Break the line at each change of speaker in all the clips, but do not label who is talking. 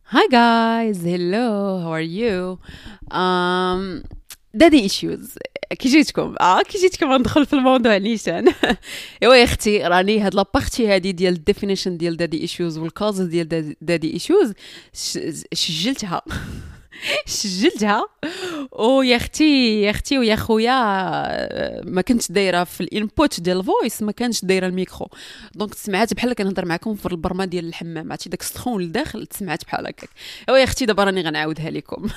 Hi guys, hello, how are you? Um, daddy issues. كي جيتكم ندخل في الموضوع نيشان. ايوا يا اختي راني هاد لابارتي هادي ديال الديفينيشن ديال دادي ايشوز والكازز ديال دادي ايشوز سجلتها. سجلتها. ويا اختي يا اختي ويا خويا ما كنتش دايره في الانبوت ديال الفويس، ما كانش دايره الميكرو، دونك سمعت بحال كنهضر معكم في البرمه ديال الحمام، عرفتي داك السخون لداخل سمعت بحال هكاك. ايوا يا اختي دابا راني غنعاودها لكم.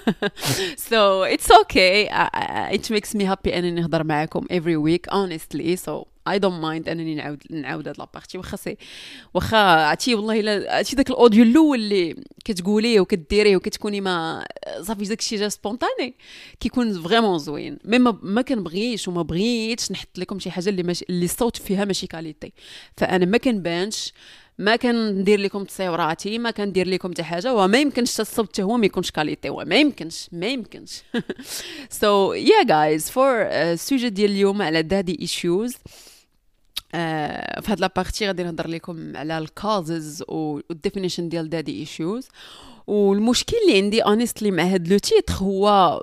So it's okay. It makes me happy انني نهضر معاكم every week honestly. So I don't mind انني نعاود هاد لابارتي واخا عرفتي والله الا عرفتي داك الاوديو الاول اللي كتقوليه وكديريه وكتكوني ما صافي داك الشيء جا سبونطاني كيكون فريمون زوين. مي ما كنبغيش وما بغيتش نحط لكم شي حاجه اللي الصوت فيها ماشي كاليتي، فانا ما كنبانش، ما كندير لكم تصاوراتي، ما كندير لكم حتى حاجه، وما يمكنش الصوت حتى هو ما يكونش كاليتي، وما يمكنش ما يمكنش. So yeah guys, for السوجي ديال اليوم على daddy issues. في هاد لابارتي غادي نهضر لكم على الكازز والديفينيشن ديال دادي ايشوز. والمشكل اللي عندي honestly مع هاد لو تيتر هو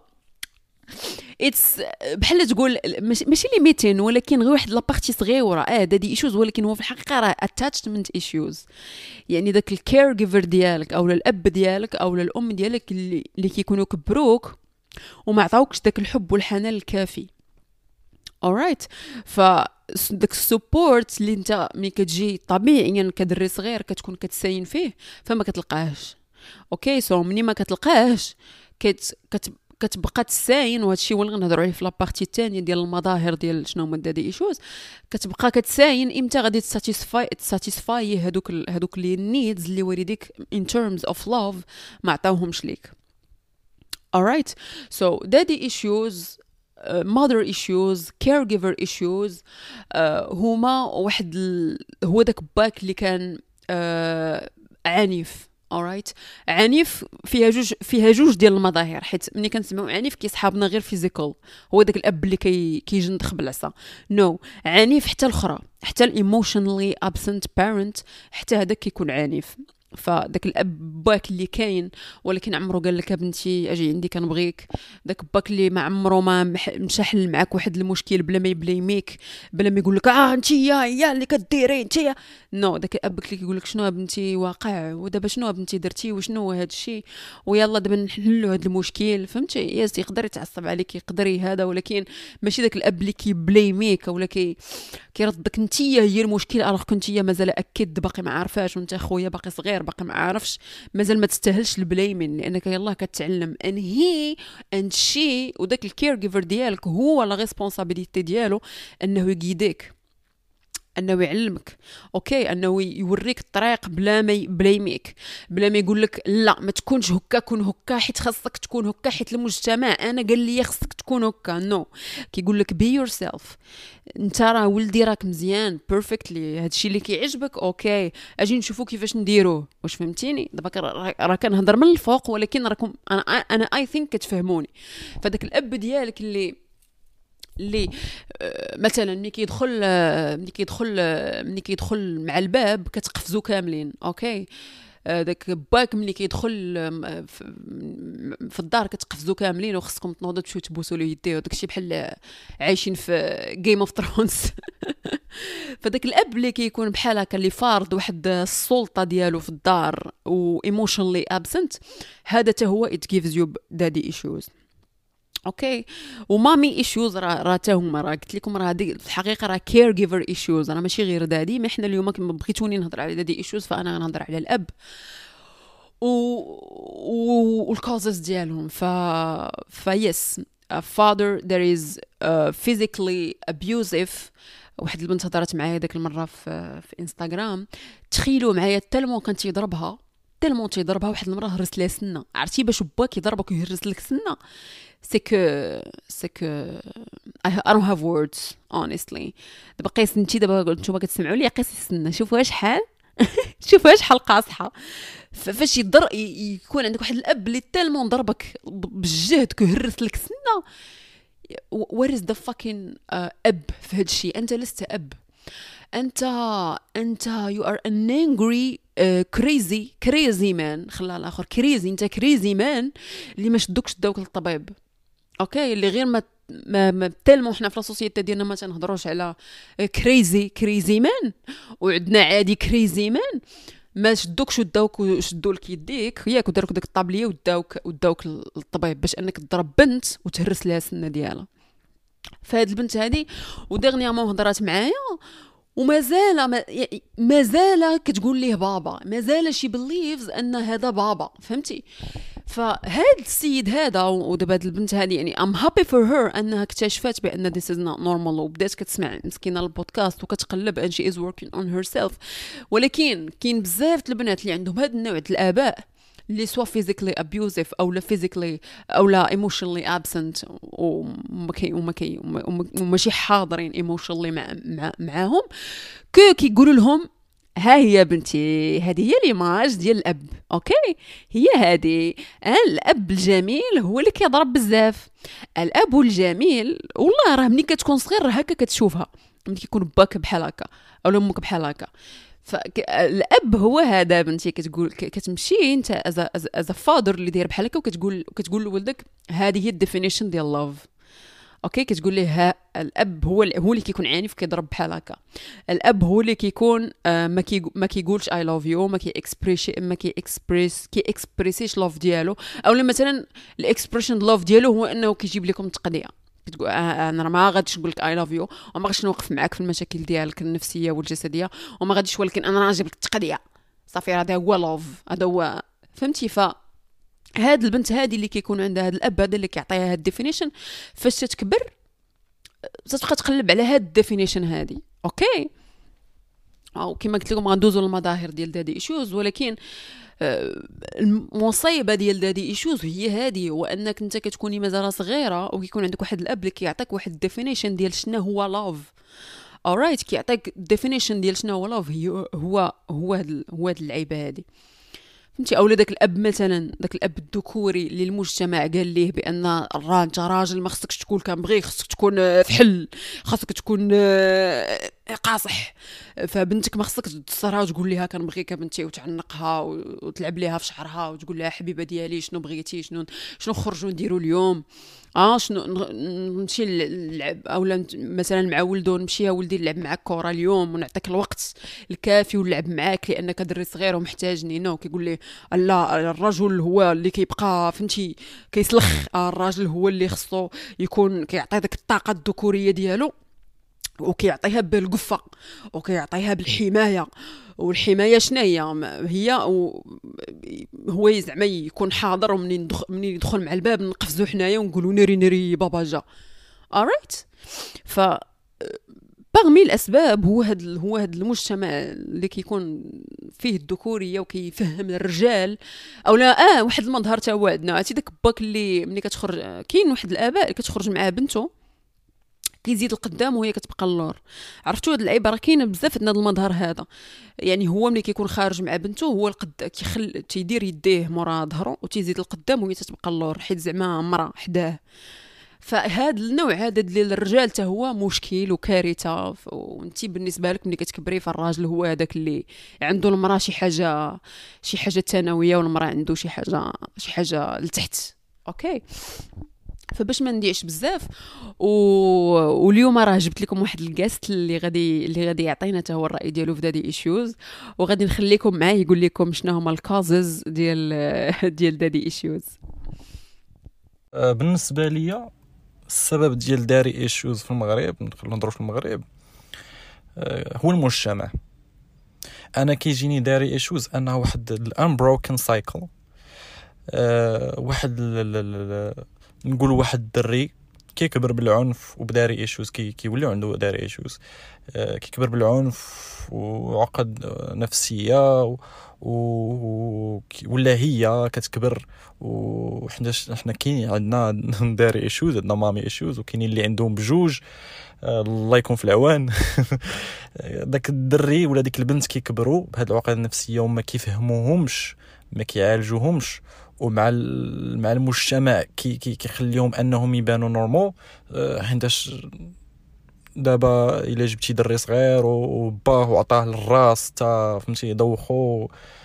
اتس بحال تقول ماشي ليميتين، ولكن غير واحد لابارتي صغيره دادي ايشوز، ولكن هو في الحقيقه راه اتاتشمنت ايشوز. يعني داك الكير جيفر ديالك او الاب ديالك او الام ديالك اللي كيكونوا كبروك وما عطاوكش داك الحب والحنان الكافي. alright. ف داك السبورت اللي انت ملي كتجي طبيعيا يعني كدري صغير كتكون كتساين فيه فما كتلقاهش. اوكي سو مني ما كتلقاهش كتبقى تساين، وهذا الشيء هو اللي غنهضروا عليه في لابارتي الثانيه ديال المظاهر ديال شنو هما دادي ايشوز. كتبقى كتساين امتى غادي تساتيسفاي هذوك لي نيدز اللي والديك in terms of love ما عطاوهمش ليك. alright. so daddy issues, mother issues, caregiver issues. هما واحد هو داك باك اللي كان عنيف. alright. عنيف فيها جوج ديال المظاهر، حيت ملي كنسمعوا عنيف كيصحابنا غير فيزيكال، هو داك الاب اللي كيجندخ بالعصا. نو عنيف حتى الاخرى، حتى الايموشنالي ابسنت بارنت، حتى هذاك كيكون عنيف. فداك الاب باك اللي كاين ولكن عمرو قال لك بنتي اجي عندي كنبغيك، داك باك اللي ما عمرو ما مشى حل معك واحد المشكل بلا ما يبليميك، بلا ما يقول لك انت يا اللي كديري انت يا نو. داك الاب اللي كيقول لك شنو بنتي واقع، ودابا شنو بنتي درتي وشنو هو هذا الشيء، ويلا دابا نحلوا هذا المشكل. فهمتي؟ ياس يقدر يتعصب عليك يقدر هذا، ولكن ماشي داك الاب اللي كيبليميك ولا كيردك انت هي المشكل، الوغ كنت هي مازال اكيد باقي ما عارفاش، وانت خويا باقي صغير باقي ما عارفش، مازال ما تستاهلش البلايمين، لانك يلاه كتعلم ان هي اند شي، وداك الكير جيفر ديالك هو لا ريسبونسابيلتي ديالو انه يقيدك، انه يعلمك. اوكي انه يوريك الطريق بلا ما يبلايميك، بلا ما يقول لك لا ما تكونش هكا، كون هكا حيت خاصك تكون هكا حيت المجتمع انا قال لي خاصك تكون هكا. نو كيقول لك بي يور سيلف، انت راه ولدي راك مزيان بيرفكتلي، هادشي اللي كيعجبك اوكي اجي نشوفو كيفاش نديروه. واش فهمتيني؟ دابا راه كنهضر من الفوق، ولكن راكم انا اي ثينك كتفهموني. فداك الاب ديالك اللي مثلا ملي كيدخل مع الباب كتقفزوا كاملين. اوكي داك باك ملي كيدخل في الدار كتقفزوا كاملين وخصكم تنوضوا تمشيو تبوسوا له يديه، داكشي بحال عايشين في جيم اوف ثرونز. فداك الاب اللي كيكون بحال هكا اللي فارض واحد السلطه ديالو في الدار و emotionally absent، هذا حتى هو it gives you daddy issues. اوكي ومامي ايشوز راه تا هما، راه قلت لكم راه هذه في الحقيقه راه كير جيفر ايشوز، راه ماشي غير دادي. ما احنا اليوم كما بغيتوني نهضر على دادي ايشوز فانا غنهضر على الاب والكوزز ديالهم. فيس father there is physically abusive. واحد البنت هضرت معايا داك المره في انستغرام، تخيلوا معايا تلمو كان تيضربها واحد المره هرس لها سنه. عرفتي باش باك يضربك ويهرس لك سنه؟ سكو I don't have words honestly. دابا قيس انتي، دابا نتوما كتسمعوا لي، قيسي السنه شوفوا شحال شوفوا شحال قاصحه. فاش يكون عندك واحد الاب اللي تالمون ضربك بالجهد كيهرس لك سنه، what is the fucking اب في هاد الشيء؟ انت لست اب، انت you are an angry كريزي مان، خلى الاخر كريزي، انت كريزي مان اللي ما شدوك للطبيب. اوكي، اللي غير ما تالمو حنا في السوسيتي ديالنا ما تنهضروش على كريزي مان، وعندنا عادي كريزي مان ما شدوكش وشدوا لك يديك ياك وداروك داك الطابليه وداوك للطبيب باش انك تضرب بنت وتهرس لها السنه ديالها. فهاد البنت هذه ودغنيامون هضرات معايا مازال كتقول ليه بابا، مازال شي بليفز ان هذا بابا، فهمتي؟ فهاد السيد هذا ودابا هاد البنت هذه يعني ام هابي فور هير انها اكتشفت بان this is not normal، وبدات كتسمع مسكينه البودكاست وكتقلب ان she is working on herself. ولكن كاين بزاف البنات اللي عندهم هاد النوع ديال الاباء اللي سوا physically abusive او لا physically او لا emotionally absent وماشي حاضرين emotionally معاهم، كيقولوا لهم ها هي بنتي، هذه هي ليماج ديال الاب. اوكي، هي هذه الاب الجميل هو اللي كيضرب بزاف. الاب الجميل والله راه ملي كتكون صغير راه هكا كتشوفها، ملي كيكون باك بحال هكا او امك بحال هكا. فالاب هو هذا بنتي، كتقول كتمشي انت از فادر اللي داير بحال هكا وكتقول لولدك هذه هي الديفينيشن ديال لاف. اوكي، كتقول ليه ها الاب هو اللي كيكون عنيف كيضرب بحال هكا. الاب هو اللي كيكون ما كيقولش اي لاف يو، ما اكسبريسيش لاف ديالو، او مثلا الاكسبريشن لاف ديالو هو انه كيجيب لكم التقضيه. كتقول انا ما غاديش نقول لك اي لاف يو وما غاديش نوقف معاك في المشاكل ديالك النفسيه والجسديه وما غاديش، ولكن انا غنجيب لك التقضيه صافي. هذا هو لاف، هذا هو، فهمتي؟ هاد البنت هذه اللي كيكون عندها هاد الاب هذا اللي كيعطيها هاد الديفينيشن، فاش تكبر تتبقى تقلب على هاد الديفينيشن هذه. اوكي، او كما قلت لكم غندوزوا للمظاهر ديال دادي ايشوز، ولكن المصيبه ديال دادي ايشوز هي هذه، وانك انت كتكوني مازال صغيره وكيكون عندك واحد الاب اللي كيعطيك واحد الديفينيشن ديال شنو هو لاف. alright، كيعطيك الديفينيشن ديال شنو هو لاف، هو هاد اللعيبه هذه، فهمتي؟ اولا داك الاب مثلا، داك الاب الذكوري اللي المجتمع قال ليه بان انت راجل ما خصكش تكون كنبغي، خصك تكون فحل، خاصك تكون قاصح، فبنتك ما خصك تصرها وتقول لها كنبغيك بنتي وتعنقها وتلعب ليها في شعرها وتقول لها حبيبه ديالي شنو بغيتي، شنو خرجوا نديروا اليوم، شنو نمشي نلعب، اولا مثلا مع ولدو نمشي يا ولدي نلعب معاك كره اليوم ونعطيك الوقت الكافي ونلعب معاك لانك دري صغير ومحتاجني. نو كيقول لي لا، الرجل هو اللي كيبقى، فهمتي؟ كيسلخ. الراجل هو اللي خصو يكون كيعطي داك الطاقه الذكوريه ديالو وكيعطيها بالقفه وكيعطيها بالحمايه. والحمايه شنو هي هو زعما يكون حاضر، ومنين يدخل مع الباب نقفزوا حنايا ونقولوا ناري بابا جا. alright، ف باغمي الاسباب هو هاد المجتمع اللي كيكون فيه الذكوريه وكيفهم الرجال، او لا واحد المظهر تا هو عندنا. عرفتي داك باك اللي ملي كتخرج، كاين واحد الاباء اللي كتخرج مع بنته كيزيد القدام وهي كتبقى اللور. عرفتوا هاد العيبه راه كاينه بزاف عندنا المظهر هذا. يعني هو ملي كيكون خارج مع بنته هو تيدير يديه مورا ظهره وتيزيد القدام وهي تتبقى اللور، حيت زعما مرا حداه. فهاد النوع هذا ديال الرجال حتى هو مشكل وكارثه. وانتي بالنسبه لك ملي كتكبري فالراجل هو هذاك اللي عنده المراه شي حاجه ثانويه والمراه عنده شي حاجه لتحت. اوكي، فباش ما نديعش بزاف واليوم راه جبت لكم واحد الجاست اللي غادي يعطينا حتى هو الراي ديالو في دادي ايشوز، وغادي نخليكم معاه يقول لكم شنو هما الكازز ديال دادي ايشوز.
بالنسبه ليا السبب ديال داري ايشوز في المغرب، نهضروا في المغرب، هو المجتمع. انا كيجيني داري ايشوز انه واحد الانبروكن سايكل. واحد نقول واحد الدري كيكبر بالعنف وبداري ايشوز، كيولي عنده داري ايشوز، كيكبر بالعنف وعقد نفسيه ولا هي كتكبر. وحنا كاين عندنا داري ايشوز، عندنا مامي ايشوز، وكاينين اللي عندهم بجوج. الله يكون في العوان. داك الدري ولا ديك البنت كيكبروا بهاد العقد النفسيه وما كيفهموهمش، ما كيعالجوهمش، ومع المجتمع كيخليهم انهم يبانوا نورمال. حيتاش دابا الا جبتي دري صغير وباه وعطاه للراس تا فهمتي يدوخو،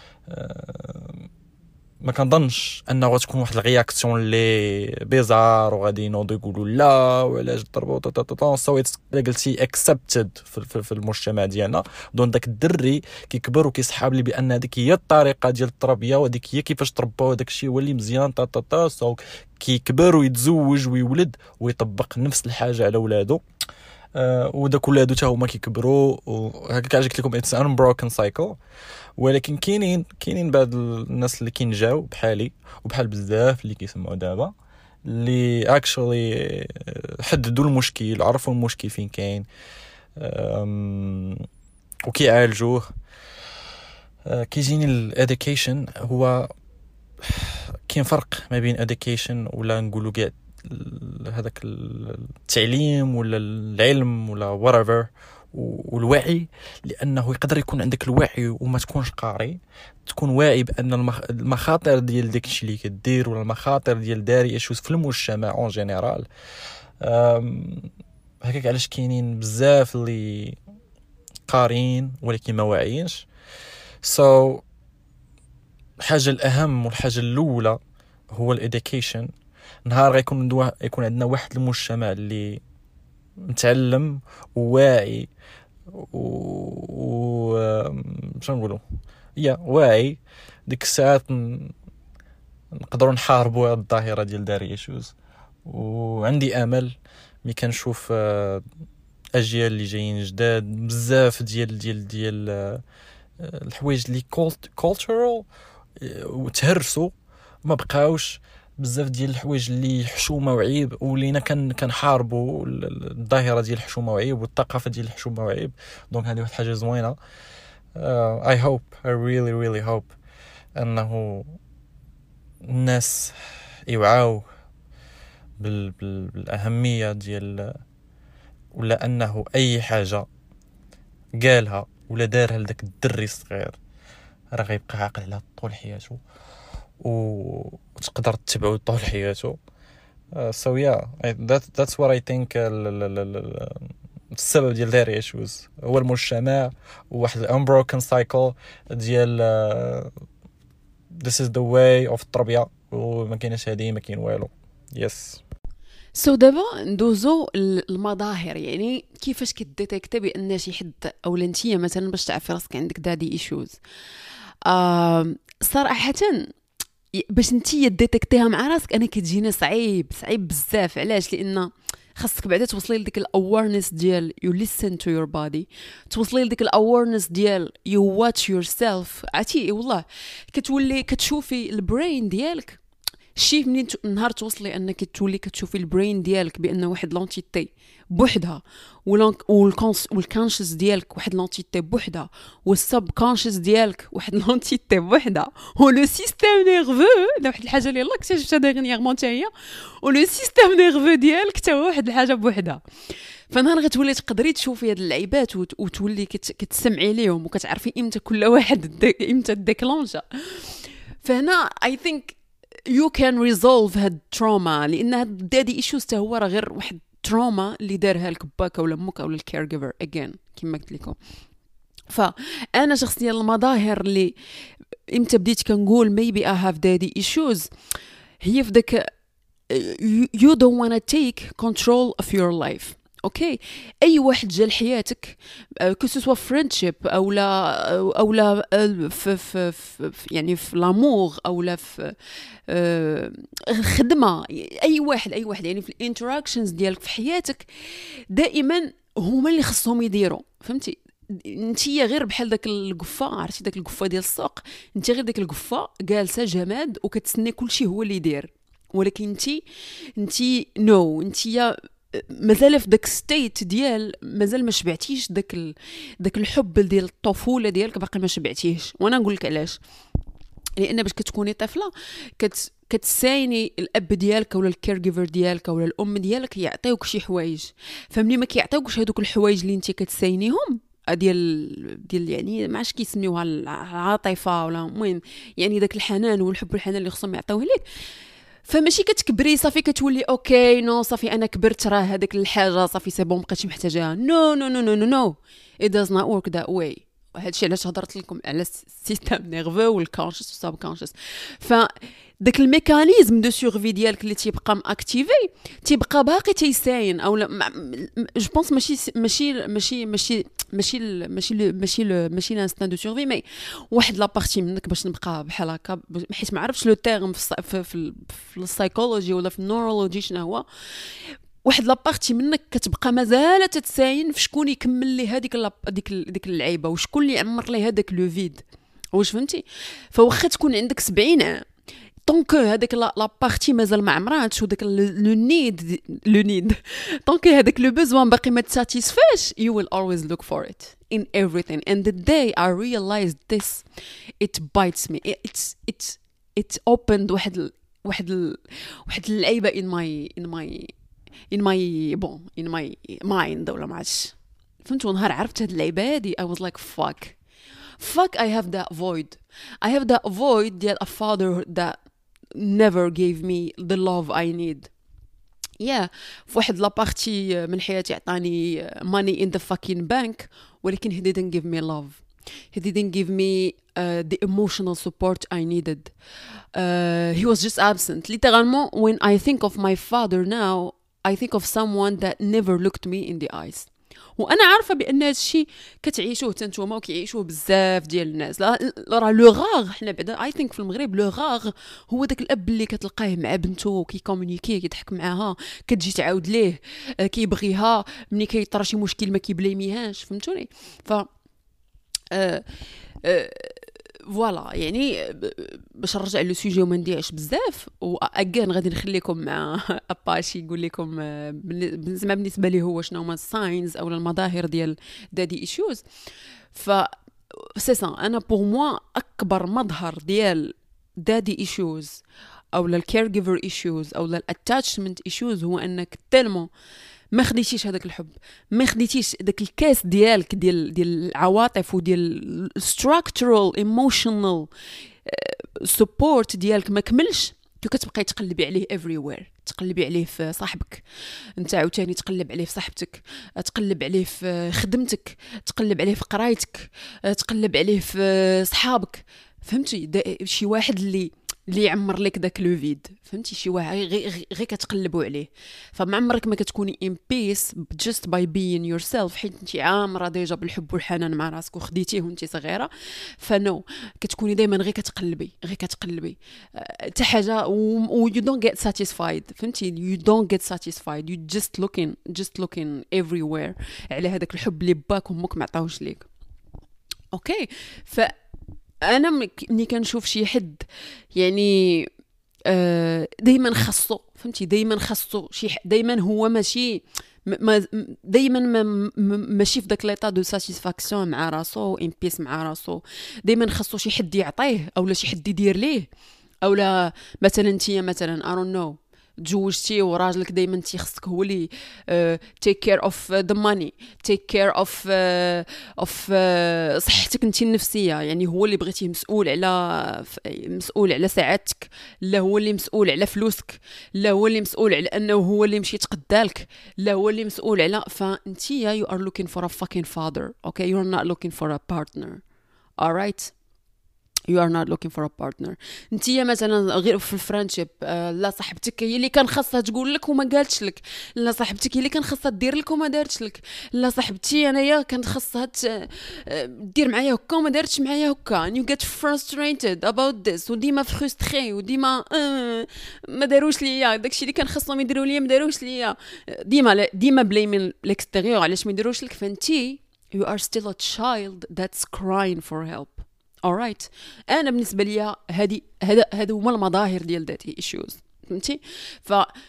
ما كنظنش انه غتكون واحد الرياكسيون اللي بيزار وغادي ينوضوا يقولوا لا وعلاش ضربوا طا سو اتس قلتي اكسبتد في المجتمع ديالنا. دون داك الدري كيكبر وكيسحاب لي بان هذيك هي الطريقه ديال التربيه وهذيك هي كيفاش تربوا، هذاك الشيء هو اللي مزيان سو كيكبر ويتزوج ويولد ويطبق نفس الحاجه على ولادو. وداك ولادو حتى هما كيكبروا وهكا قلت لكم اتس ان بروكن سايكل. ولكن كاينين بعض الناس اللي كينجاو بحالي وبحال بزاف اللي كيسمعوا دابا اللي اكشولي حددوا المشكل، عرفوا المشكل فين كاين وكيعالجوه. كيجيني الاديوكيشن هو كاين فرق ما بين اديوكيشن ولا نقولوا كاع هذاك التعليم ولا العلم ولا whatever والوعي، لانه يقدر يكون عندك الوعي وما تكونش قاري، تكون واعي بان المخاطر ديال داك الشيء اللي كدير ولا المخاطر ديال داري ايشوز في المجتمع اون جينيرال. هكاك علاش كاينين بزاف اللي قارين ولكن ما واعيينش. الحاجه الاهم والحاجه الاولى هو الاديوكيشن. نهار غيكون عندنا واحد المجتمع اللي متعلم وواعي باش نقولوا واعي، ديك الساعات نقدروا نحاربوا هذه الظاهره ديال داري ايشوز. وعندي امل ملي كنشوف اجيال اللي جايين جداد بزاف ديال الحوايج اللي كولتورال وتهرسوا، ما بقاوش بزاف ديال الحوايج اللي حشومه وعيب، ولينا كنحاربوا الظاهره ديال الحشومه وعيب والثقافه ديال الحشومه وعيب. دونك هذه واحد الحاجه زوينه. I really hope انه الناس يوعاو بالاهميه ديال ولا انه اي حاجه قالها ولا دارها لذاك الدري الصغير راه غيبقى عاقل على طول حياته وتقدر تتبعه طول حياته. So yeah, that's what I think. السبب ديال داري ايشوز هو المجتمع وواحد unbroken cycle ديال this is the way of التربية، وما كاينش هذه ما كاين والو. yes.
دابا ندوزو المظاهر، يعني كيفاش كديتيكتي بان شي حد او انتيا مثلا باش تعرفي راسك عندك دادي ايشوز. صراحه باش نتيا ديتيكتيها مع راسك انا كتجينا صعيب بزاف. علاش؟ لان خاصك بعدا توصلي لديك الاويرنس ديال you listen to your body، توصلي لديك الاويرنس ديال you watch yourself. عرفتي والله كتولي كتشوفي البرين ديالك. شي منين نهار توصلي انك تولي كتشوفي البرين ديالك بان واحد لونتيتي بوحدها، والكونشس ديالك واحد لونتيتي بوحدها، والسب كونشس ديالك واحد لونتيتي بوحدها، ولو سيستيم نيرفو دا واحد الحاجه اللي يلاه اكتشفتها ديغنيغمون حتى هي، ولو سيستيم نيرفو ديالك حتى هو واحد الحاجه بوحدها. فنهار غتولي تقدري تشوفي هاد اللعيبات وتولي كتسمعي ليهم وكتعرفي امتى كل واحد امتى ديكلونجا. فهنا اي ثينك you can resolve هاد تروما، لان هاد دادي ايشوز تا هو راه غير واحد تروما اللي دارها لك باك ولا امك ولا الكير جيفر اجين كما قلت لكم. فانا شخصيا المظاهر اللي امتى بديت كنقول maybe I have daddy issues هي في داك you don't want to take control of your life. اوكي، اي واحد جا لحياتك كسوا فريندشيب او لا في يعني في لامور او لا في خدمه، اي واحد يعني في الانتراكشنز ديالك في حياتك دائما هما اللي خصهم يديروا. فهمتي؟ انتي غير بحال داك القفه، عرفتي داك القفه ديال السوق، انتي غير داك القفه جالسه جماد وكتسنى كلشي هو اللي يدير، ولكن انتي نو انتي مازال في داك ستيت ديال مازال ما شبعتيش داك الحب ديال الطفوله ديالك، باقي ما شبعتيهش. وانا نقول لك علاش، لان باش كتكوني طفله كتسايني الاب ديالك ولا الكير جيفر ديالك ولا الام ديالك يعطيوك شي حوايج، فملي ما كيعطيوكش هذوك الحوايج اللي انت كتساينيهم ديال يعني ما عرفتش كيسميوها العاطفه ولا المهم يعني داك الحنان والحب والحنان اللي خصهم يعطيوه لك، فماشي كتكبري صافي كتولي اوكي نو صافي انا كبرت راه هذيك الحاجه صافي سي بون مابقيتش محتاجاها. نو نو نو نو نو نو it does not work that way. هادشي علاش هضرت لكم على السيستم نيرفو والكونشس والسب كونشس. ف داك الميكانيزم دو سورفي ديالك اللي تيبقى ماكتيفي تيبقى باقي تيساين او جو بونس ماشي الانستان دو سورفي مي واحد لابارتي منك باش نبقى بحال هكا حيت ما عرفتش لو تيرم في السايكولوجي ولا في النورولوجي شنو هو. واحد لابارتي منك كتبقى مازال تتساين في شكون يكمل لي هذيك ديك اللعيبه وشكون اللي يعمر لي هذاك لو فيد. واش فهمتي؟ فواخا تكون عندك 70 عام طونك هذاك لا بارتي مازال ما عمراتش وداك لو نيد طونك هذاك لو بوزوان باقي ما تساتيسفاش you will always look for it in everything. And the day I realized this it bites me. It's opened واحد اللعيبه in my mind ولا ما عرفتش. فهمت ونهار عرفت هاد اللعيبه هادي I was like fuck I have that void ديال a father that never gave me the love I need. في واحد لابارتي من حياتي عطاني money in the fucking bank ولكن he didn't give me love. He didn't give me the emotional support I needed. He was just absent. Literally, when I think of my father now, I think of someone that never looked me in the eyes. وانا عارفه بان هذا الشيء كتعيشوه حتى نتوما وكيعيشوه بزاف ديال الناس. راه لو غاغ حنا بعدا اي ثينك في المغرب لو غاغ هو داك الاب اللي كتلقاه مع بنته كيكومونيكي كيضحك معاها كتجي تعاود ليه كيبغيها ملي كيطرا شي مشكل ما كيبليميهاش. فهمتوني؟ ف فوالا يعني باش نرجع لو سوجي وما نديعش بزاف واكان غادي نخليكم مع اباشي يقول لكم بالنسبه لي هو شنو هما الساينز او المظاهر ديال دادي ايشوز. ف سي سا انا بور موا اكبر مظهر ديال دادي ايشوز او الكير جيفر ايشوز او الاتاتشمنت ايشوز هو انك تلمو ما خديتيش هذاك الحب، ما خديتيش داك الكاس ديالك ديال العواطف وديال structural emotional support ديالك ما كملش. كتبقاي تقلبي عليه everywhere، تقلبي عليه في صاحبك انت عاوتاني، تقلب عليه في صاحبتك، تقلب عليه في خدمتك، تقلب عليه في قرايتك، تقلب عليه في صحابك. فهمتي؟ شي واحد اللي يعمر لك داك لو فيد. فهمتي؟ شي واحد غير كتقلبوا عليه. فما عمرك ما كتكوني in peace just by being yourself، حيت انت عامره ديجا بالحب والحنان مع راسك وخديتيه وانت صغيره. فنو كتكوني دائما غير كتقلبي حتى حاجه و you don't get satisfied. فهمتي؟ you don't get satisfied، you just looking everywhere على هذاك الحب اللي باك وامك ما عطاوش ليك. اوكي، انا ملي كنشوف شي حد يعني دائما خاصو، فهمتي؟ دائما خاصو شي دائما هو ماشي دائما ماشي في داك ليطا دو ساتيسفاكسيون مع راسو، ان بيس مع راسو. دائما خاصو شي حد يعطيه اولا شي حد يدير ليه، اولا مثلا انتيا مثلا I don't know تزوجتي وراجلك دائما تيخصك هو اللي take care of the money، take care of صحتك انت النفسيه. يعني هو اللي بغيتيه مسؤول على سعادتك، لا هو اللي مسؤول على فلوسك، لا هو اللي مسؤول على انه هو اللي مشي تقدالك، لا هو اللي مسؤول على. فانتيا you are looking for a fucking father. Okay, you are not looking for a partner. All right, you are not looking for a partner. انتيا مثلا غير في الفرنشيب، لا صاحبتك هي اللي كان خاصها تقول لك وما قالتش لك، لا صاحبتك هي اللي كان خاصها دير لك وما دارتش لك، لا صاحبتي انايا كانت خاصها دير معايا هكا وما دارتش معايا هكا. and you get frustrated about this وديما فرستري وديما ما داروش ليا داكشي اللي كان خاصهم يديروا ليا ما داروش ليا، ديما بلايمين ليكستيريور علاش ما يديروش لك. فانتي you are still a child that's crying for help. alright، انا بالنسبه ليا هذا هما المظاهر ديال داتي ايشوز. فهمتي؟ ف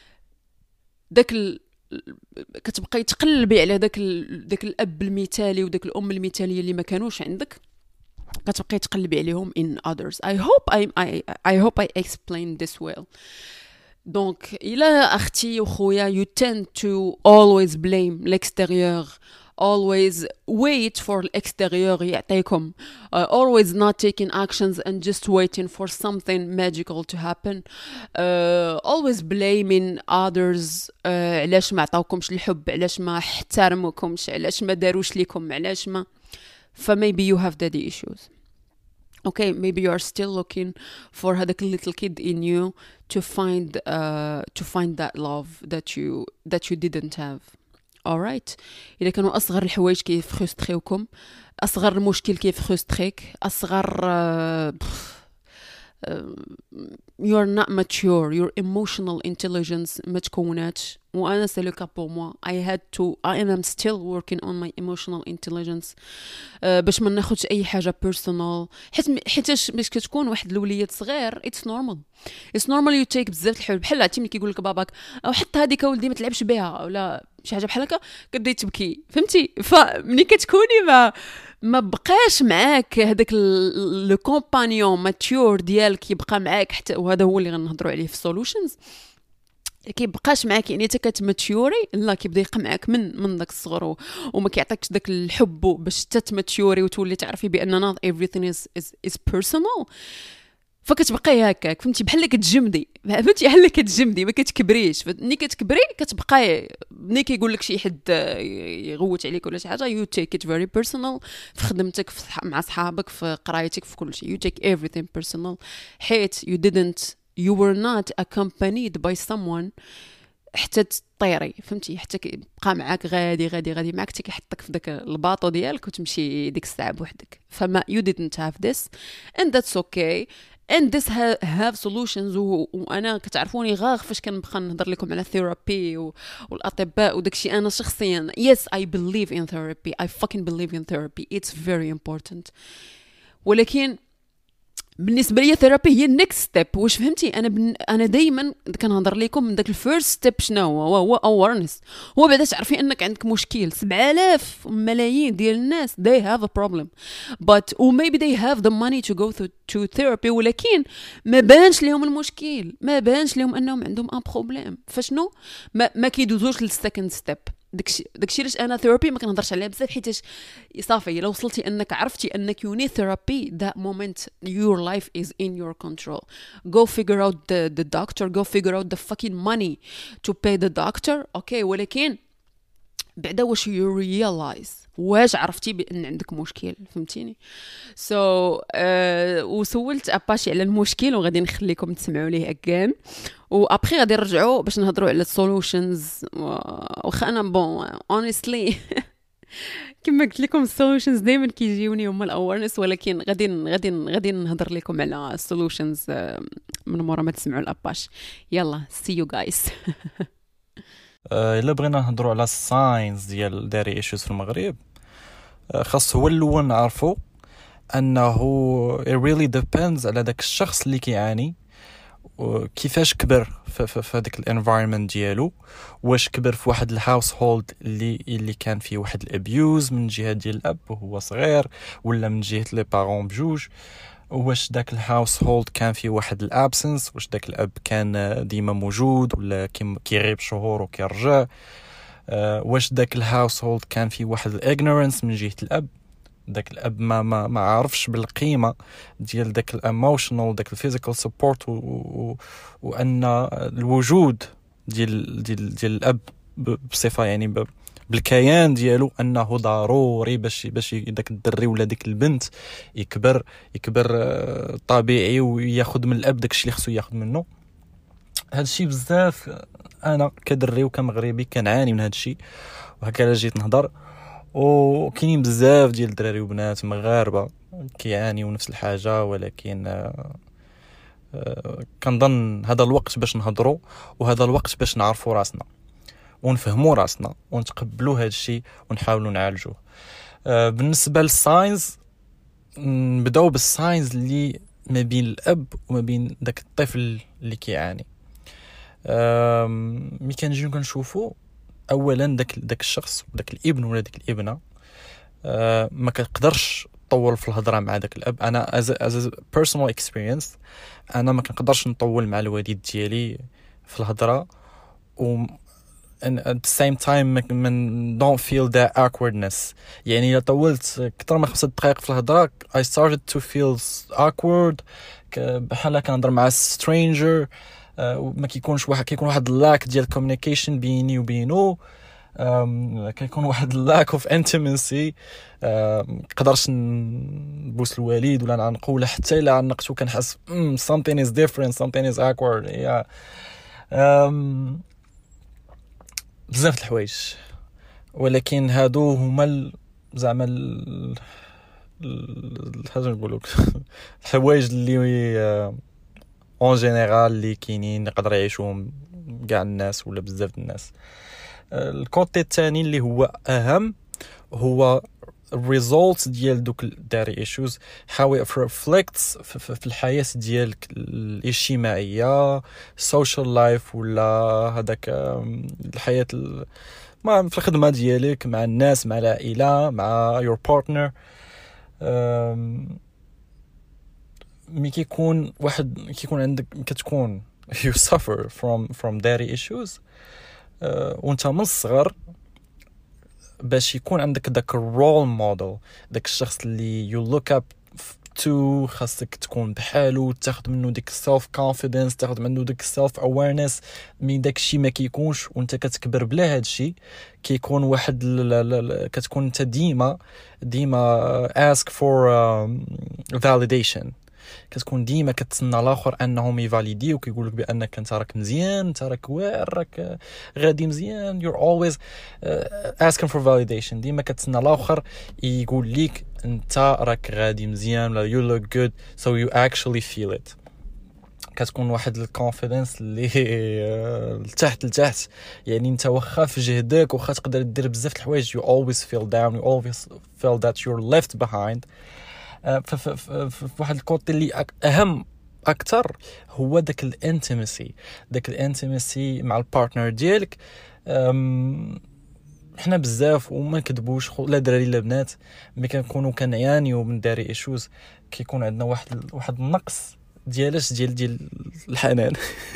داك كتبقاي تقلبي على داك الاب المثالي وداك الام المثاليه اللي ما كانوش عندك، كتبقاي تقلبي عليهم in others. I hope I explained this well. دونك الى اختي وخويا you tend to always blame l'extérieur always wait for الextérieur يعطيكم, always not taking actions and just waiting for something magical to happen, always blaming others, علاش ما عطاوكمش الحب, علاش ما احترموكمش, علاش ما داروش ليكم, علاش ما. maybe you have daddy issues. Okay, maybe you are still looking for هذاك little kid in you to find that love that you didn't have. alright, إذا كانوا أصغر الحوايج كيف خستخيوكم, أصغر المشكل كيف خستخيك, أصغر you're not mature, your emotional intelligence ما تكوناتش. وأنا c'est le cas pour moi. I am still working on my emotional intelligence, باش ما ناخدش أي حاجة personal. حيتاش باش كتكون واحد الوليد صغير it's normal you take بزاف الحوايج, بحال عرفتي ملي كيقول لك باباك أو حتى هذيك ولدي ما تلعبش بها ولا شي حاجة بحال هكا, كتبداي تبكي, فهمتي؟ فملي كتكوني ما بقاش معاك هذاك لو كومبانيون ماتيور ديالك يبقى معاك حتى, وهذا هو اللي غنهضروا عليه في سولوشنز, كيبقاش معاك يعني حتى كتماتيوري, لا كيبدا يبقى معاك من داك الصغر وما كيعطيكش داك الحب باش تتماتيوري وتولي تعرفي بان not everything is personal. فكتبقاي هكاك, فهمتي, بحال كتجمدي, فهمتي, بحال كتجمدي ما كتكبريش. ملي كتكبري كتبقاي ملي كيقول لك شي حد يغوت عليك ولا شي حاجه you take it very personal, في خدمتك, مع صحابك, في قرايتك, في كل شيء you take everything personal, حيت you were not accompanied by someone حتى تطيري, فهمتي, حتى كيبقى معاك غادي معاك حتى كيحطك في داك الباطو ديالك وتمشي ديك الساعه بوحدك. فما you didn't have this and that's okay and this have solutions. وانا كتعرفوني غاغ فاش كنبقى نهضر لكم على ثيرابي والاطباء وداكشي, انا شخصيا yes I believe in therapy, I fucking believe in therapy, it's very important. ولكن بالنسبه لي ثيرابي هي النكست ستيب. واش فهمتي؟ انا دائما كنهضر لكم من داك الفيرست ستيب شنو هو اورنس, هو بعدا تعرفي انك عندك مشكل. 7000 ملايين ديال الناس they have a problem but or maybe they have the money to go to therapy, ولكن ما بانش لهم المشكل, ما بانش لهم انهم عندهم ان بروبليم. فشنو ما كيدوزوش للسكند ستيب. داكشي علاش انا ثيرابي ما كنهضرش عليها بزاف, حيت صافي لو وصلتي انك عرفتي انك you need therapy, that moment your life is in your control. Go figure out the doctor, go figure out the fucking money to pay the doctor, okay. ولكن بعدا واش you realize, واش عرفتي بان عندك مشكل, فهمتيني؟ وسولت اباشي على المشكل وغادي نخليكم تسمعوا ليه again, وابخي غادي نرجعوا باش نهضروا على السولوشنز. واخا انا بون honestly كما قلت لكم السولوشنز دائما كيجيوني هما الاورنس, ولكن غادي نهضر لكم على السولوشنز من مورا ما تسمعوا الاباش. يلا see you guys.
الا بغينا نهضروا على الساينز ديال داري ايشوز في المغرب, خاص هو الاول نعرفوا انه it really depends على داك الشخص اللي كيعاني كيفاش كبر في هذاك الانفايرمنت ديالو. واش كبر في واحد الهاوس هولد اللي كان فيه واحد الابيوز من جهه ديال الاب وهو صغير, ولا من جهه لي بارون بجوج. واش داك الهاوس هولد كان فيه واحد الابسنس, واش داك الاب كان ديما موجود ولا كيغيب شهور وكيرجع. واش داك الهاوس هولد كان فيه واحد الاغنورنس من جهه الاب, داك الاب ما عارفش بالقيمه ديال داك الايموشنال داك الفيزيكال سبورت, وان الوجود ديال الاب بصفه يعني بالكيان ديالو انه ضروري باش داك الدري ولا ديك البنت يكبر طبيعي وياخذ من الاب داكشي اللي خصو ياخذ منه. هادشي بزاف انا كدري وكمغربي كنعاني من هادشي, وهكا جيت نهضر. وكاينين بزاف ديال الدراري وبنات مغاربه كيعانيوا نفس الحاجه, ولكن كنظن هذا الوقت باش نهضروا, وهذا الوقت باش نعرفوا راسنا ونفهموا راسنا ونتقبلوا هذا الشيء ونحاولوا نعالجوه. بالنسبه للساينز, نبداو بالساينز اللي ما بين الاب وما بين داك الطفل اللي كيعاني. ملي كنجيو كنشوفوا اولا داك الشخص, داك الابن ولا ديك الابنه, ما كنقدرش نطول في الهضره مع داك الاب. انا as personal experience انا ما كنقدرش نطول مع الوالد ديالي في الهضره, و and at the same time من don't feel that awkwardness. يعني إذا طولت كتر من 5 دقائق في الهضرة I started to feel awkward بحال كنهضر مع stranger. ما كيكونش كيكون واحد lack ديال communication بيني وبينه. كيكون واحد lack of intimacy. قدرش نبوس الوالد ولا نعنقو ولا حتى الا عنقتو كنحس something is different, something is awkward. بزاف الحوايج، ولكن هادو هما زعما هذا نقولك الحوايج اللي اون جينيرال اللي كاينين يقدر يعيشوهم كاع الناس ولا بزاف الناس. الكوتي الثاني اللي هو اهم هو الريزولتس ديال دوك الداري ايشوز، how it reflects في الحياة ديالك الاجتماعية social life ولا هذاك الحياة ما في الخدمة ديالك مع الناس مع العائلة مع your partner. مي كيكون عندك كتكون you suffer from daddy issues وانت من الصغر باش يكون عندك داك الرول موديل، داك الشخص اللي you look up to، خاصك تكون بحاله، تاخذ منه ديك self confidence، تاخذ منه ديك self awareness. مي داك الشيء ما كيكونش وانت كتكبر بلا هاد الشيء، كيكون واحد كتكون انت ديما ask for validation، كتكون ديما كتسنى الاخر انهم يفاليديو وكيقولك بانك انت راك مزيان، انت راك واعر، راك غادي مزيان. you're always asking for validation، ديما كتسنى الاخر يقول لك انت راك غادي مزيان ولا you look good so you actually feel it. كتكون واحد الكونفيدنس اللي لتحت يعني انت واخا في جهدك واخا تقدر دير بزاف الحوايج you always feel down, you always feel that you're left behind. في واحد الكوتي اللي اهم اكثر هو داك الانتيمسي مع البارتنر ديالك. حنا بزاف وما نكذبوش لا دراري لا بنات ملي كنكونوا كنعانيو من داري ايشوز كيكون عندنا واحد النقص ديال الحنان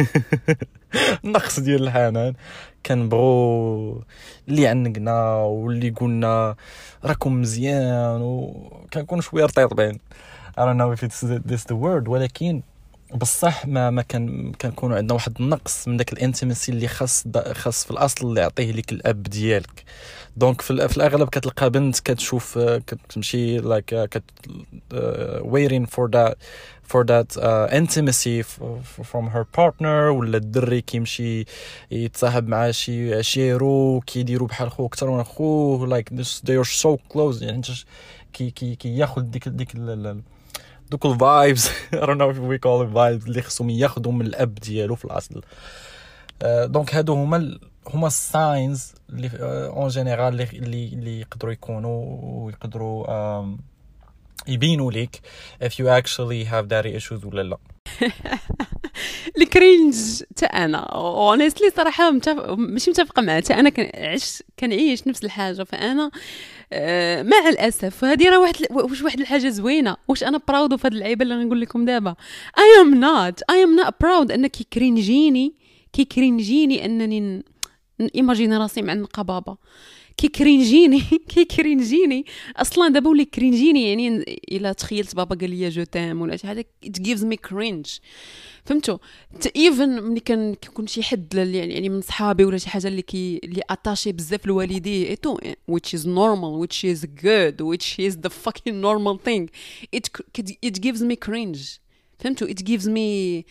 نقص ديال الحنان. كنبغوا اللي عنقنا واللي قلنا راكم مزيان وكنكون شويه رطيطين. I don't know if it's the word، ولكن بصح ما كنكونوا عندنا واحد النقص من داك الانتيمسي اللي خاص في الاصل اللي يعطيه لك الاب ديالك. دونك في الاغلب كتلقى بنت كتشوف كتمشي like waiting for that intimacy from her partner، ولا الدري كيمشي يتصاحب مع شي عشيرو كيديروا بحال خو اكثر من خوه like this they are so close. يعني انت كي ياخذ ديك دوك الفايبز I don't know if we call it vibes اللي خصهم ياخذوا من الاب ديالو في الاصل. دونك هادو هما الساينز اللي اون جينيرال اللي يقدروا يكونوا ويقدروا يبينوا لك if you actually have daddy issues ولا لا.
الكرينج تا انا اونستلي صراحه ماشي متفقه معها. تا انا كنعيش نفس الحاجه. فانا مع الاسف هذه راه واحد الحاجه زوينه. واش انا براود في هذه اللعيبه اللي غنقول لكم دابا؟ I am not proud ان كيكرينجيني انني ايماجيني راسي مع النقابه. كيكرينجيني اصلا دابا ولي كرينجيني. يعني الا تخيلت بابا قال لي جو تام ولا شي حاجه it gives me cringe. فهمتوا؟ ايفن ملي كنكون شي حد يعني من صحابي ولا شي حاجه اللي اتاشي بزاف لوالديه ايتو which is normal which is good which is the fucking normal thing it gives me cringe. فهمتوا؟ it gives me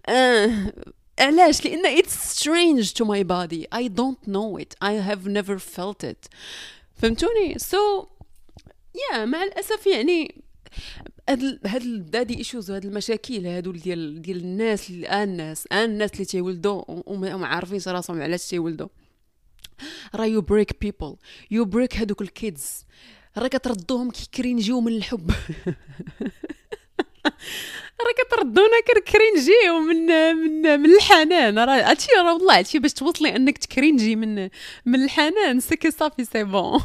علاش؟ لأن it's strange to my body. I don't know it. I have never felt it. فهمتوني؟ so yeah مع الأسف يعني هاد الدادي ايشوز وهاد المشاكل هادو ديال الناس اللي تيولدوا وما عارفينش راسهم علاش تيولدوا. راه you break people you break هادوك الكيدز. راه كتردوهم كيكرينجيو من الحب. راه كتردونا كرينجيو من الحنان. راه هادشي راه والله هادشي باش توصلي انك تكرينجي من الحنان سكي صافي سي بون.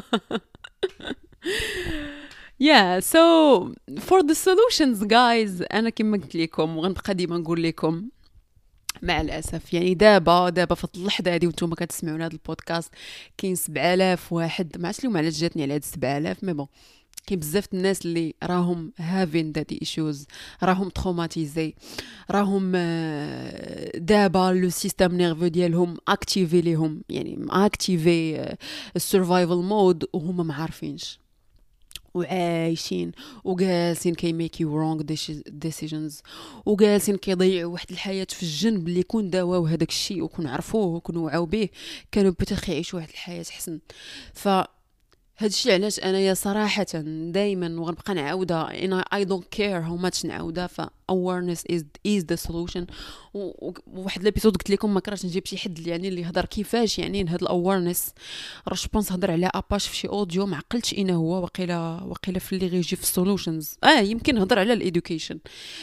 yeah so for the solutions guys انا كما قلت لكم وغنبقى ديما نقول لكم مع الاسف يعني دابا في اللحظه هذه وانتم كتسمعوا هذا البودكاست كاين 7000 واحد، ما عرفتش اليوم علاش جاتني على هاد 7000 مي بون. كاين بزاف الناس اللي راهم هافين دادي ايشوز، راهم تروماتيزي، راهم دابا لو سيستم نيرفو ديالهم اكتيفي ليهم، يعني اكتيفي السرفايفل مود وهما ما عارفينش وعايشين وجالسين كي ميكي رونغ ديسيجنز، وجالسين كيضيعوا واحد الحياه في الجنب اللي كون داواو هذاك الشيء وكون عرفوه وكون وعاو به كانوا بتاخ يعيشوا واحد الحياه احسن. ف هادشي علاش انايا صراحه دائما وغنبقى نعاودها I don't care how much نعاودها. ف awareness is the solution. وواحد الابيسود قلت لكم ما كرهتش نجيب شي حد يعني اللي يهضر كيفاش يعني هاد الاويرنس، راه جو بونس هضر على اباش في شي اوديو ما عقلتش اين هو، وقيله في اللي غيجي في السولوشنز يمكن هضر على الادوكيشن.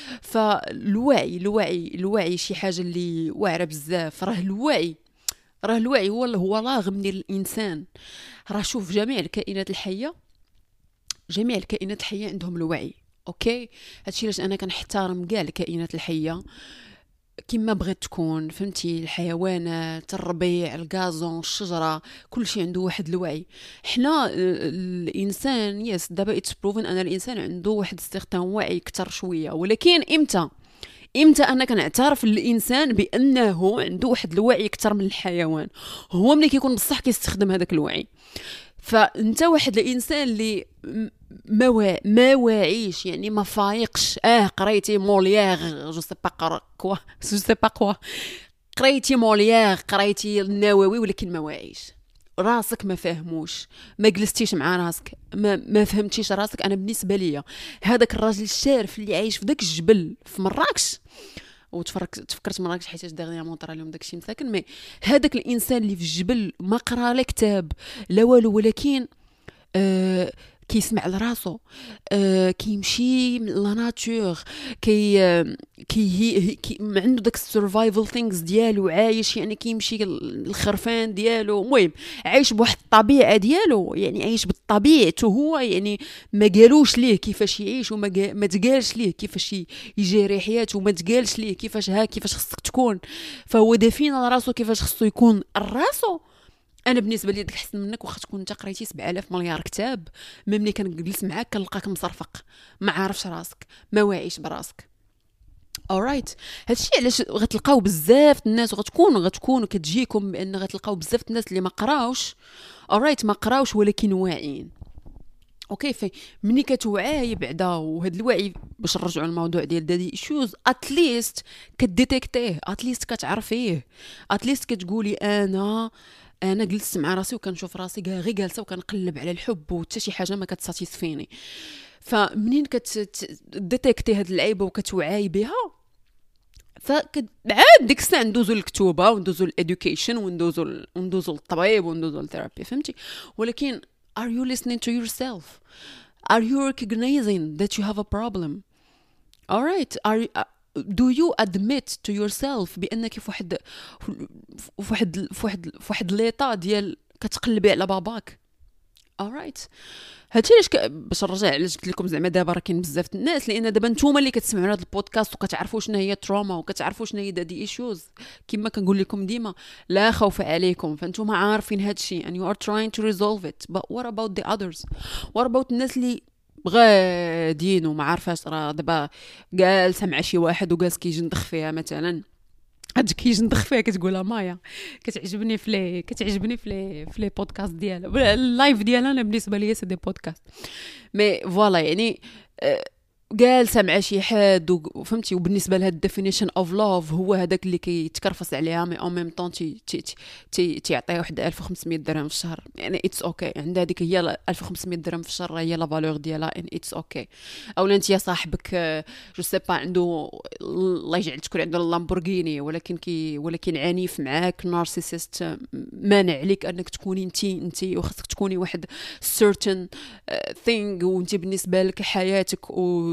فالوعي شي حاجه اللي واعره بزاف. راه الوعي هو لاغم ديال الانسان. راه شوف جميع الكائنات الحيه عندهم الوعي، اوكي. هادشي علاش انا كنحترم كاع الكائنات الحيه كما بغيت تكون، فهمتي؟ الحيوانات، الربيع، الغازون، الشجره، كل شيء عنده واحد الوعي. حنا الانسان يس دابا اتس بروفن ان الانسان عنده واحد استخدام وعي اكثر شويه، ولكن امتى انا كنعترف الانسان بانه عنده واحد الوعي اكثر من الحيوان؟ هو ملي كيكون بصح كيستخدم هذاك الوعي. فانت واحد الانسان اللي ما واعيش يعني ما فايقش، قريتي موليير جو سي با كوا قريتي موليير، قريتي النووي، ولكن ما واعيش، راسك ما فاهموش، ما جلستيش مع راسك، ما فهمتيش راسك. انا بالنسبه ليا هذاك الراجل الشارف اللي عايش في داك الجبل في مراكش، تفكرت مراكش حيت دغيامون طرا لهم داكشي مساكن، مي هذاك الانسان اللي في الجبل ما قرا لا كتاب لا والو، ولكن كيسمع لراسو، كيمشي لا ناتور، كي عنده داك السرفايفل ثينكس ديالو، عايش يعني كيمشي الخرفان ديالو، المهم عايش بواحد الطبيعه ديالو، يعني عايش بطبيعته هو، يعني ما قالوش ليه كيفاش يعيش، وما تقالش ليه كيفاش يجري حياته، وما تقالش ليه كيفاش خصك تكون. فهو دافين على راسو كيفاش خصو يكون راسو. انا بالنسبه لي داك احسن منك، واخا تكون انت قريتي 7000 مليار كتاب، ملي كنجلس معاك كنلقاك مصرفق، ما عارفش راسك، ما واعيش براسك. alright. هادشي علاش غتلقاو بزاف الناس، وغتكونوا كتجيكم بان غتلقاو بزاف الناس اللي ما قراوش ما قراوش ولكن واعيين، اوكي. في ملي كتوعاي بعدا، وهاد الوعي باش نرجعوا للموضوع ديال دادي ايشوز، اتليست كديتيكتيه، اتليست كتعرفيه، اتليست كتقولي انا جلست مع راسي وكنشوف راسي غير جالسه وكنقلب على الحب وحتى شي حاجه ما كتساتيسفيني. فمنين كتديتيكتي هاد العيبه وكتوعاي بها، فعاد ديك الساعه ندوزو للكتوبه، وندوزو للادوكيشن، وندوزو للطبيب، وندوزو للثيرابي، فهمتي؟ ولكن are you listening to yourself? Are you recognizing that you have a problem? alright. do you admit to yourself بانك في واحد ليطا ديال كتقلبي على باباك؟ alright. هادشي علاش باش نرجع علاش قلت لكم زعما دابا راه كاين بزاف الناس، لان دابا نتوما اللي كتسمعوا هذا البودكاست وكتعرفوا شنو هي تروما وكتعرفوا شنو هي دادي ايشوز، كما كنقول لكم ديما لا خوف عليكم، فانتوما عارفين هادشي and you are trying to resolve it. but what about the others? what about الناس اللي غاديين وما عارفاش، راه دابا جالسه مع شي واحد وجالس كيجندخ فيها مثلا، هاد كيجندخ فيها كتقولها مايا كتعجبني في لي بودكاست ديالها، اللايف ديالها انا بالنسبه ليا سي دي بودكاست، مي فوالا يعني جالسه مع شي حد وفهمتي، وبالنسبه لها الديفينيشن اوف لاف هو هذاك اللي كيتكرفس عليها، مي او ميم طون تيعطيها واحد 1500 درهم في الشهر، يعني اتس اوكي. عندها هذيك هي 1500 درهم في الشهر هي لا فالور ديالها، ان اتس اوكي. اولا انت يا صاحبك جو سي با عنده الله يجعل تكون عنده اللامبورغيني، ولكن عنيف معاك، نارسيسيست، مانع عليك انك تكوني انت وخاصك تكوني واحد certain thing، وانت بالنسبه لك حياتك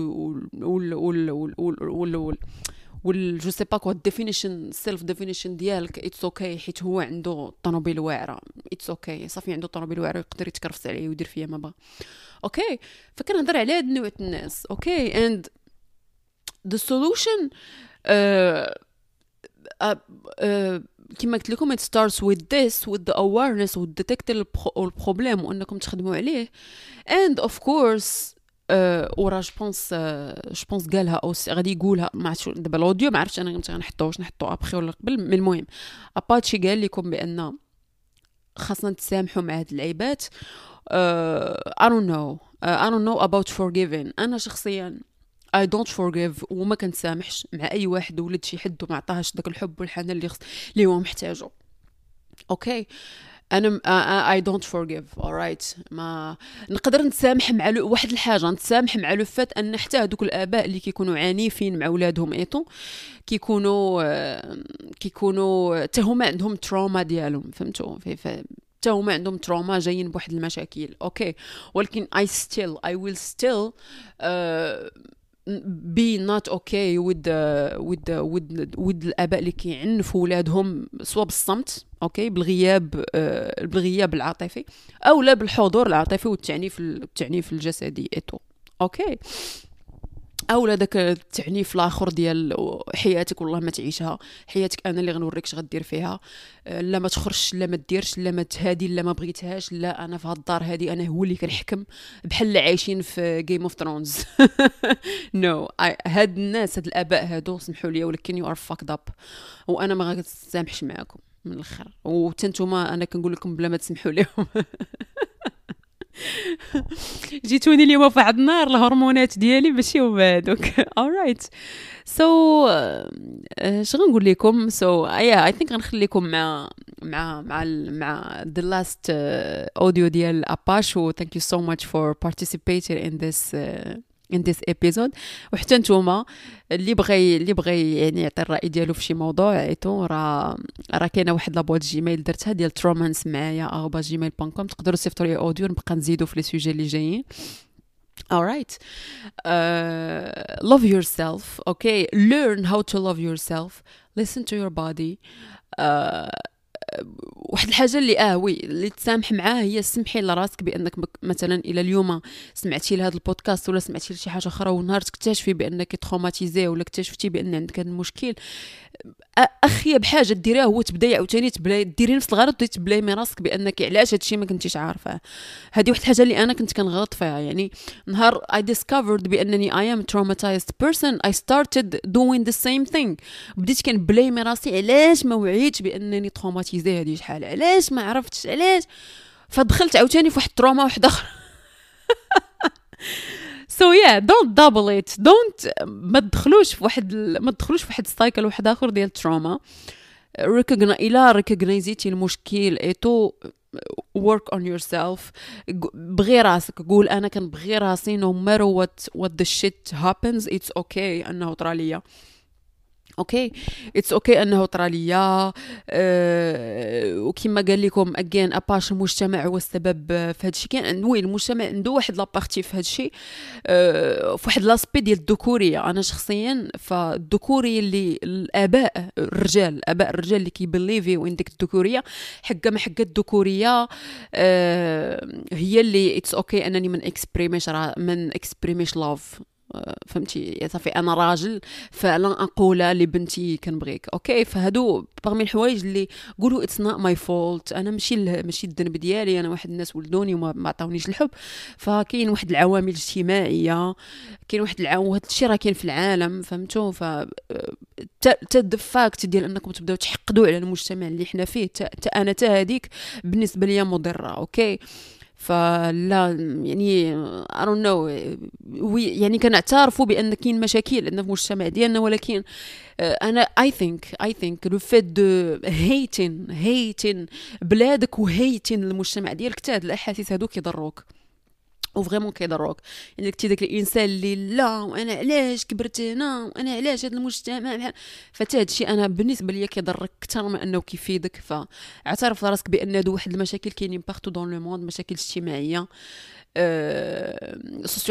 جو سي با كو ديفينيشن سيلف ديفينيشن ديالك اتس اوكي، حيت هو عنده طوموبيل واعره، اتس اوكي، صافي عنده طوموبيل واعره يقدر يتكرفس عليه ويدير فيا ما بغا، اوكي. فكنهضر على هاد النوع الناس، اوكي. اند ذا سولوشن كما قلت لكم it starts with this with the awareness with detect البروبليم وانكم تخدموا عليه and of course ورا جوبونس قالها او غادي يقولها ما عرفتش دابا الاوديو ما عرفتش انا غنحطو ابخي ولا قبل من المهم اباتشي قال لكم بان خاصنا نتسامحوا مع هاد اللعيبات. I don't know about forgiving. انا شخصيا I don't forgive وما كنسامحش مع اي واحد ولد شي حد وما عطاهاش داك الحب والحنان اللي هو محتاجه. اوكي انا I don't forgive alright. ما نقدر نتسامح مع واحد الحاجه، نتسامح مع لو فات ان حتى هذوك الاباء اللي كيكونوا عنيفين مع اولادهم ايطو كيكونوا حتى هما عندهم تروما ديالهم، فهمتوا؟ حتى هما عندهم تروما جايين بواحد المشاكل. اوكي ولكن I will still be not okay with الاباء اللي كيعنفوا ولادهم سواء بالصمت اوكي بالغياب العاطفي او لا بالحضور العاطفي والتعنيف الجسدي ايتو. اوكي او لا داك التعنيف الاخر ديال حياتك والله ما تعيشها، حياتك انا اللي غنوريك اش غدير فيها، لا ما تخرجش، لا ما ديرش، لا ما تهادي، لا ما بغيتهاش، لا انا في هاد الدار هادي انا هو اللي كنحكم بحال اللي عايشين في جيم اوف ثرونز. نو هاد الناس هاد الاباء هادو سمحوا لي ولكن يو ار فاكد اب وانا ما غنسامحش معاكم من الاخر وتنتوما انا كنقول لكم بلا ما تسمحوا لهم. جيتوني اليوم في واحد النهار الهرمونات ديالي ماشي هما هذوك. alright so اش غنقول لكم so I think غنخليكم مع the last audio ديال اباشو. thank you so much for participating in this episode. وحتى نتوما اللي بغى يعني يعطي الراي ديالو في شي موضوع ايتو راه كاينه واحد لابوات جيميل درتها ديال ترومانس معايا @gmail.com تقدروا تصيفطوا لي اوديو نبقى نزيدو في لي سوجي اللي جايين. alright love yourself. okay learn how to love yourself. listen to your body. واحد الحاجه اللي وي اللي تسامح معاه هي سمحي لراسك بانك مثلا الى اليوم سمعتي لهذا البودكاست ولا سمعتي لشي حاجه اخرى ونهار تكتشفي بانك تروماتيزي ولا اكتشفتي بان عندك هذا المشكل، اخيب حاجه ديريها هو تبداي عاوتاني ديري نفس الغلط ودي تبلايمي راسك بانك علاش هادشي ما كنتيش عارفه. هذه واحد الحاجه اللي انا كنت كنغلط فيها، يعني نهار I discovered بانني I am a traumatized person I started doing the same thing. بديت كنبلايمي راسي علاش ما وعيتش بانني تروماتيزي هذه شحال، علاش ما عرفتش علاش، فدخلت عاوتاني في واحد التروما واحد اخر. so yeah don't double it. ما تدخلوش في واحد سايكل واحد اخر ديال التروما. ريكوغنايزيتي المشكل ايتو work on yourself. بغي راسك، قول انا كنبغي راسي no matter what the shit happens it's okay انه طراليا. اوكي اتس اوكي انه طراليا. وكما قال لكم اجين اباش المجتمع هو السبب في هذا الشيء. كاين وين المجتمع عنده واحد لابارتي في هذا الشيء في واحد لاسبي ديال الذكوريه. انا شخصيا فالذكوريه اللي الاباء الرجال اللي كيبليفيو عندك الذكوريه حقا ما حقا الذكوريه هي اللي اتس اوكي انني من اكسبريميش لاف. فهمتي صافي انا راجل فعلا اقول لبنتي كنبغيك. اوكي فهادو باغمي الحوايج اللي قولوا اتس نوت ماي فولت، انا ماشي الذنب ديالي، انا واحد الناس ولدوني وما عطاونيش الحب. فكاين واحد العوامل الاجتماعيه، كاين واحد وهذا الشيء راه كاين في العالم فهمتوا. ف فاكت ديال انكم تبداو تحقدوا على المجتمع اللي حنا فيه انا هذيك بالنسبه ليا مضره. اوكي فلا يعني I don't know يعني كنعترفوا بان كاين مشاكل عندنا في المجتمع ديالنا، ولكن انا I think لو فيت دو هيتين بلادك وهيتين المجتمع ديالك حتى هاد الاحاسيس هادو كيضروك وفريمون كيضروك. يعني كنتي داك الانسان اللي لا وانا علاش كبرت هنا وانا علاش هذا المجتمع بحال فتا هادشي انا بالنسبه ليا كيضرك اكثر من انه كيفيدك. فاعترف راسك بان هادو واحد المشاكل كاينين بارتو دون لو موند، مشاكل اجتماعيه سوسيو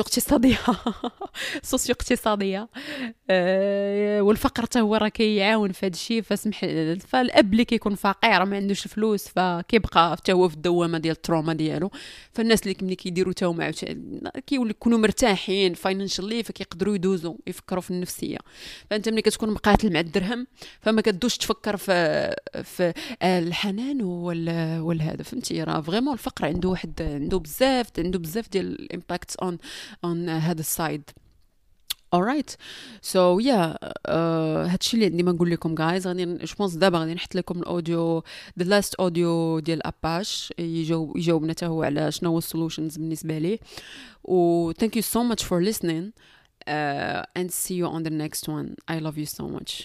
اقتصاديه والفقر حتى هو راه كيعاون في هذا الشيء. فالاب اللي كيكون فقير ما عندوش الفلوس فكيبقى حتى هو في الدوامه ديال التروما ديالو. فالناس اللي ملي كيديروا حتى هما كيولي يكونوا مرتاحين فاينانشالي، فكيقدروا يدوزوا يفكروا في النفسيه. فانت ملي كتكون مقاتل مع الدرهم فما كدوش تفكر في الحنان والهذا، فهمتي؟ راه فريمون الفقر عنده بزاف ديال الامباكت اون هذا السايد. alright so yeah هادشي اللي عندي ما نقول لكم guys. غادي جو بونس دابا غادي نحط لكم الاوديو the last audio ديال اباش يجاوبنا حتى هو على شنو هو السولوشنز بالنسبه ليه. و thank you so much for listening and see you on the next one. I love you so much.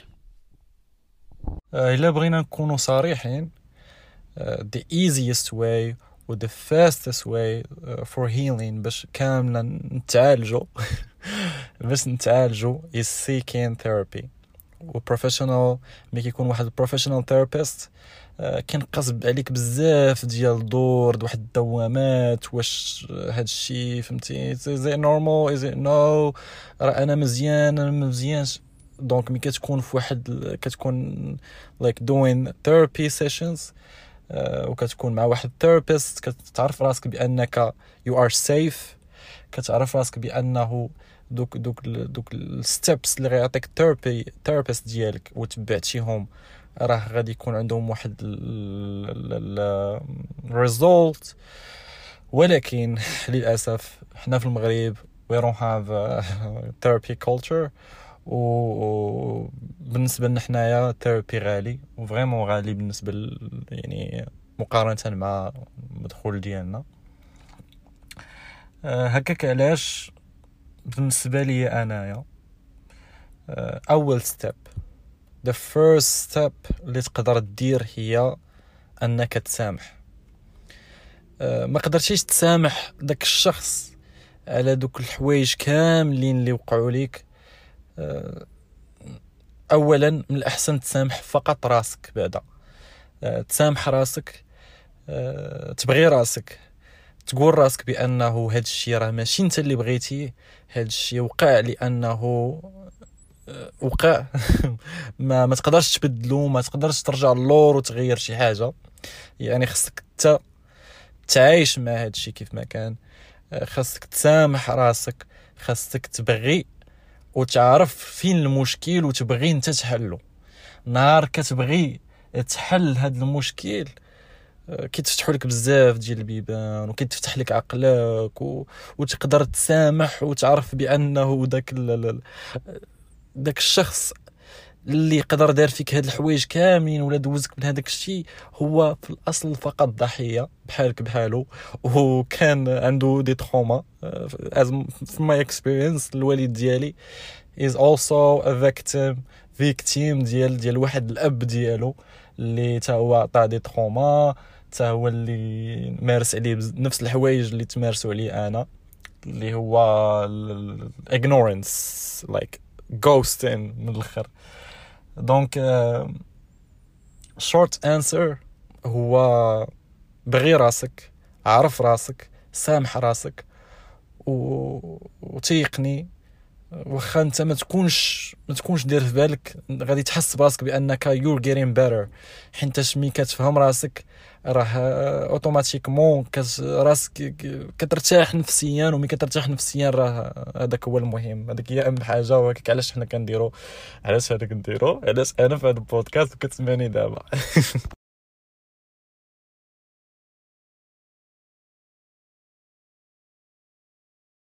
إلا بغينا نكونوا صريحين the easiest way و the fastest way for healing باش كاملا نتعالجوا باش نتعالجوا is seeking therapy. و professional ملي كيكون واحد professional therapist كينقص عليك بزاف ديال الدور واحد الدوامات، واش هاد الشيء فهمتي زي normal is it no راه انا مزيان انا ما مزيانش. دونك ملي كتكون في واحد كتكون like doing therapy sessions وكتكون مع واحد therapist كتعرف راسك بانك you are safe، كتعرف راسك بانه دوك الستبس اللي غيعطيك therapist ديالك وتبعتيهم راه غادي يكون عندهم واحد result. ولكن للاسف حنا في المغرب we don't have a therapy culture، و بالنسبه لنا حنايا ثيرابي غالي وفريمون غالي بالنسبه يعني مقارنه مع المدخول ديالنا. هكاك علاش بالنسبه لي انايا اول ستيب the first step اللي تقدر دير هي انك تسامح. ما قدرتيش تسامح داك الشخص على دوك الحوايج كاملين اللي وقعوا ليك، اولا من الاحسن تسامح فقط راسك. بعدا تسامح راسك، تبغي راسك، تقول راسك بانه هذا الشيء راه ماشي انت اللي بغيتيه، هذا الشيء وقع لانه وقع ما تقدرش تبدلو، ما تقدرش ترجع للور وتغير شي حاجه. يعني خصك تعايش مع هذا الشيء كيف ما كان، خصك تسامح راسك، خصك تبغي وتعرف فين المشكل وتبغي انت تحله. نهار كتبغي تحل هذا المشكل كيتفتحوا لك بزاف ديال البيبان وكيتفتح لك عقلك وتقدر تسامح وتعرف بانه داك الشخص اللي قدر دار فيك هاد الحوايج كاملين ولا دوزك من هذاك الشيء هو في الاصل فقط ضحيه بحالك بحاله، وكان عنده دي تروما. as from my experience الوالد ديالي is also a victim ديال واحد الاب ديالو اللي تا هو عطاه دي تروما، تا هو اللي مارس عليه نفس الحوايج اللي تمارسوا عليه انا، اللي هو ignorance like ghosting من الاخر. دونك short answer هو بغي راسك، عرف راسك، سامح راسك، وتيقني واخا انت ما تكونش دير في بالك غادي تحس براسك بانك you're getting better. حيت ملي كتفهم راسك راه اوتوماتيكمون راسك كترتاح نفسيا، وملي كترتاح نفسيا راه هذاك هو المهم، هذيك هي اهم حاجه. وهكاك علاش حنا كنديرو، علاش انا في هذا البودكاست وكتسمعني دابا